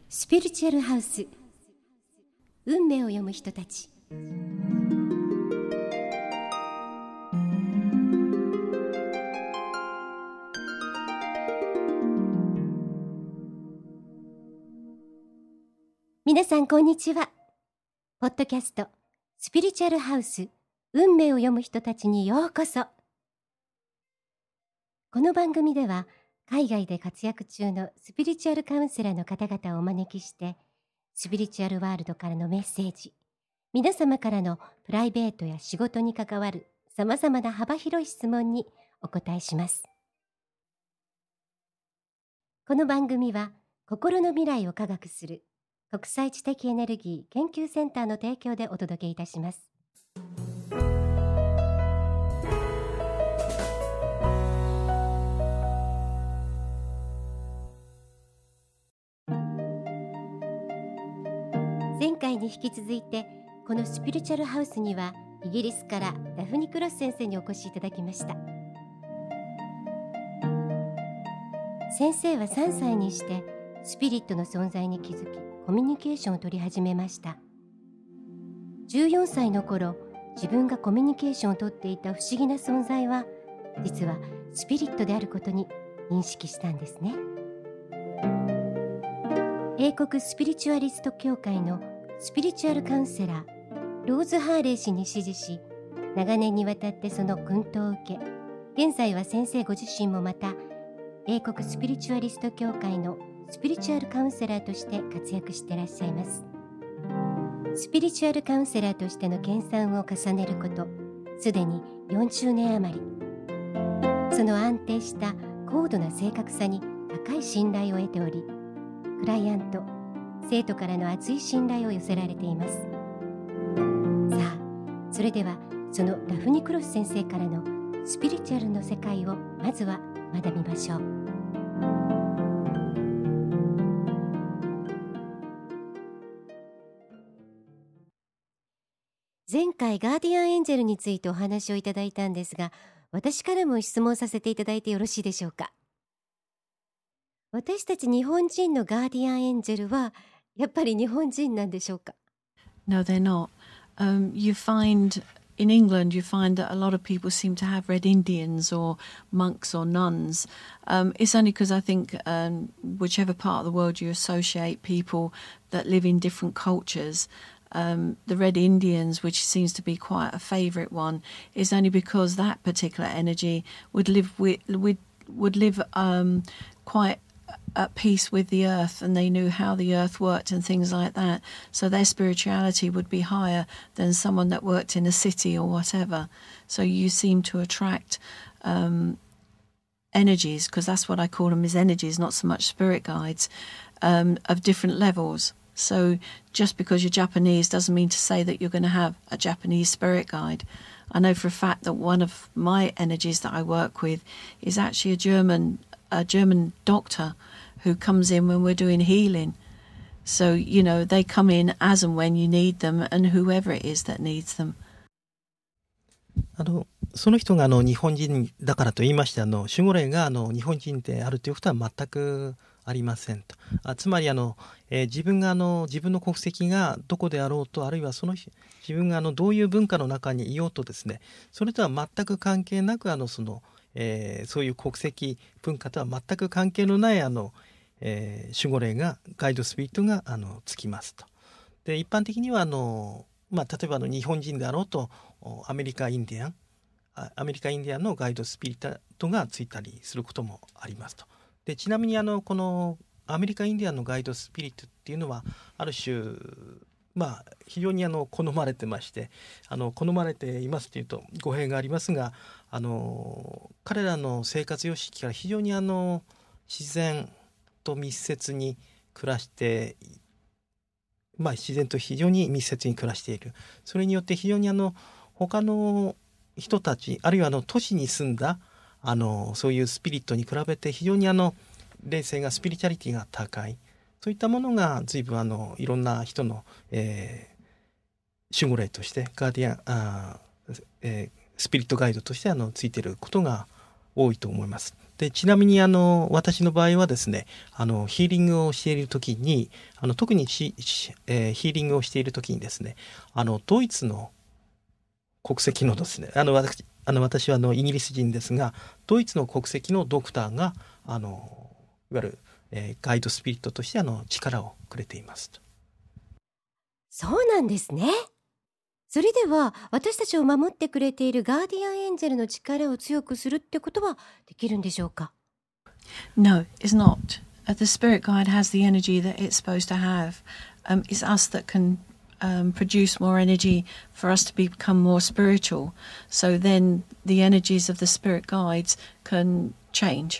スピリチュアルハウス、運命を読む人たち。皆さんこんにちは。ポッドキャストスピリチュアルハウス、運命を読む人たちにようこそ。この番組では海外で活躍中のスピリチュアルカウンセラーの方々をお招きして、スピリチュアルワールドからのメッセージ、皆様からのプライベートや仕事に関わるさまざまな幅広い質問にお答えします。この番組は心の未来を科学する国際知的エネルギー研究センターの提供でお届けいたします。前回に引き続いて、このスピリチュアルハウスにはイギリスからダフニ・クロス先生にお越しいただきました。先生は3歳にしてスピリットの存在に気づき、コミュニケーションを取り始めました。14歳の頃、自分がコミュニケーションをとっていた不思議な存在は、実はスピリットであることに認識したんですね。英国スピリチュアリスト協会のスピリチュアルカウンセラーローズ・ハーレー氏に師事し、長年にわたってその薫陶を受け、現在は先生ご自身もまた英国スピリチュアリスト協会のスピリチュアルカウンセラーとして活躍していらっしゃいます。スピリチュアルカウンセラーとしての研鑽を重ねること、すでに40年余り。その安定した高度な正確さに高い信頼を得ており、クライアント、生徒からの厚い信頼を寄せられています。さあ、それではそのダフニ・クロス先生からのスピリチュアルの世界をまずは学びましょう。前回ガーディアンエンジェルについてお話をいただいたんですが、私からも質問させていただいてよろしいでしょうか。私たち日本人のガーディアンエンジェルはやっぱり日本人なんでしょうか。 No, they're not. You find in England, you find that a lot of people seem to have red Indians or monks or nuns. It's only because I think whichever part of the world you associate people that live in different cultures, the red Indians, which seems to be quite a favourite one, is only because that particular energy would live quite at peace with the earth, and they knew how the earth worked and things like that, so their spirituality would be higher than someone that worked in a city or whatever. So you seem to attract energies, because that's what I call them, is energies, not so much spirit guides, of different levels. So just because you're Japanese doesn't mean to say that you're going to have a Japanese spirit guide. I know for a fact that one of my energies that I work with is actually a German doctor who comes in when we're doing healing. So, you know, they come in as and when you need them, and whoever it is that needs them. その人が日本人だからと言いまして、守護霊が日本人であるということは全くありませんと。つまり自分の国籍がどこであろうと、あるいは自分がどういう文化の中にいようとですね、それとは全く関係なくそういう国籍文化とは全く関係のない守護霊が、ガイドスピリットがつきますと。で、一般的には例えば日本人であろうとアメリカインディアンのガイドスピリットがついたりすることもありますと。で、ちなみにこのアメリカインディアンのガイドスピリットっていうのはある種非常に好まれてまして、好まれていますというと語弊がありますが、彼らの生活様式から非常に自然と密接に暮らして、自然と非常に密接に暮らしている。それによって非常に他の人たち、あるいは都市に住んだそういうスピリットに比べて非常に霊性が、スピリチュアリティが高い。そういったものが随分いろんな人の、守護霊としてガーディアンスピリットガイドとしてついていることが多いと思います。 でちなみに私の場合はですね、ヒーリングをしている時に特にヒーリングをしている時にですね、ドイツの国籍のですね、私はイギリス人ですが、ドイツの国籍のドクターがいわゆる、ガイドスピリットとして力をくれていますと。 そうなんですね。それでは私たちを守ってくれているガーディアンエンジェルの力を強くするってことはできるんでしょうか？ No, it's not. The spirit guide has the energy that it's supposed to have. It's us that can produce more energy for us to become more spiritual. So then the energies of the spirit guides can change,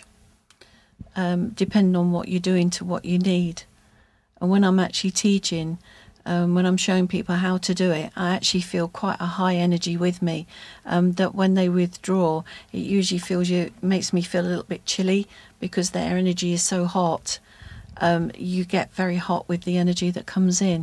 depending on what you're doing to what you need. And when I'm actually teaching, when I'm showing people how to do it, I actually feel quite a high energy with me, that when they withdraw, it usually makes me feel a little bit chilly because their energy is so hot. You get very hot with the energy that comes in.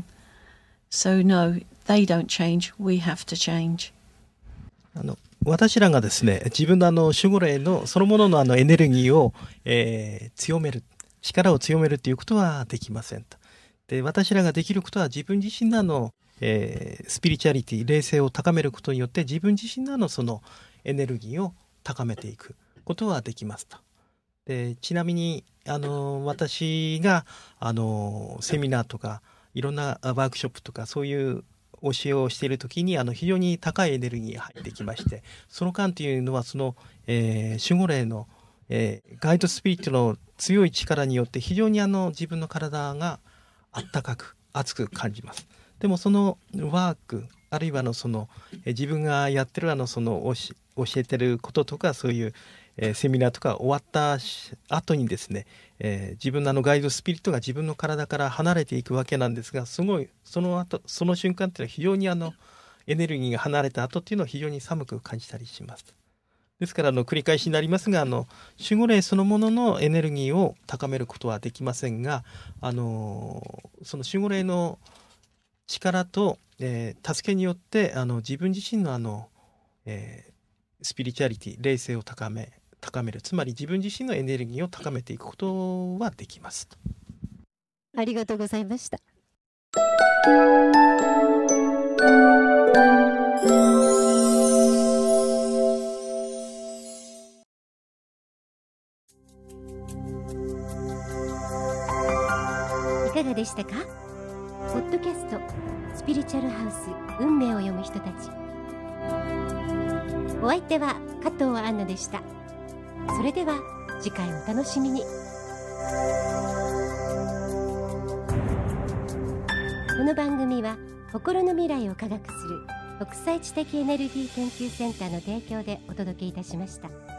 So no, they don't change. We have to change. 私らがですね、自分の守護霊のそのもののエネルギーを、強める、力を強めるということはできませんと。で、私らができることは自分自身のスピリチュアリティ、霊性を高めることによって自分自身のそのエネルギーを高めていくことはできますと。で、ちなみに私がセミナーとかいろんなワークショップとかそういう教えをしているときに非常に高いエネルギーが入ってきまして、その間というのはその、守護霊の、ガイドスピリットの強い力によって非常に自分の体があったかく熱く感じます。でもそのワークあるいはその自分がやってるその教えてることとかそういう、セミナーとか終わった後にですね、自分のガイドスピリットが自分の体から離れていくわけなんですが、すごいその瞬間っていうのは非常にエネルギーが離れた後っていうのは非常に寒く感じたりします。ですから繰り返しになりますが守護霊そのもののエネルギーを高めることはできませんがその守護霊の力と、助けによって自分自身のスピリチュアリティ霊性を高める、つまり自分自身のエネルギーを高めていくことはできますと。 ありがとうございました。いかがでしたか？ポッドキャストスピリチュアルハウス運命を読む人たち。お相手は加藤杏奈でした。それでは次回お楽しみに。この番組は心の未来を科学する国際知的エネルギー研究センターの提供でお届けいたしました。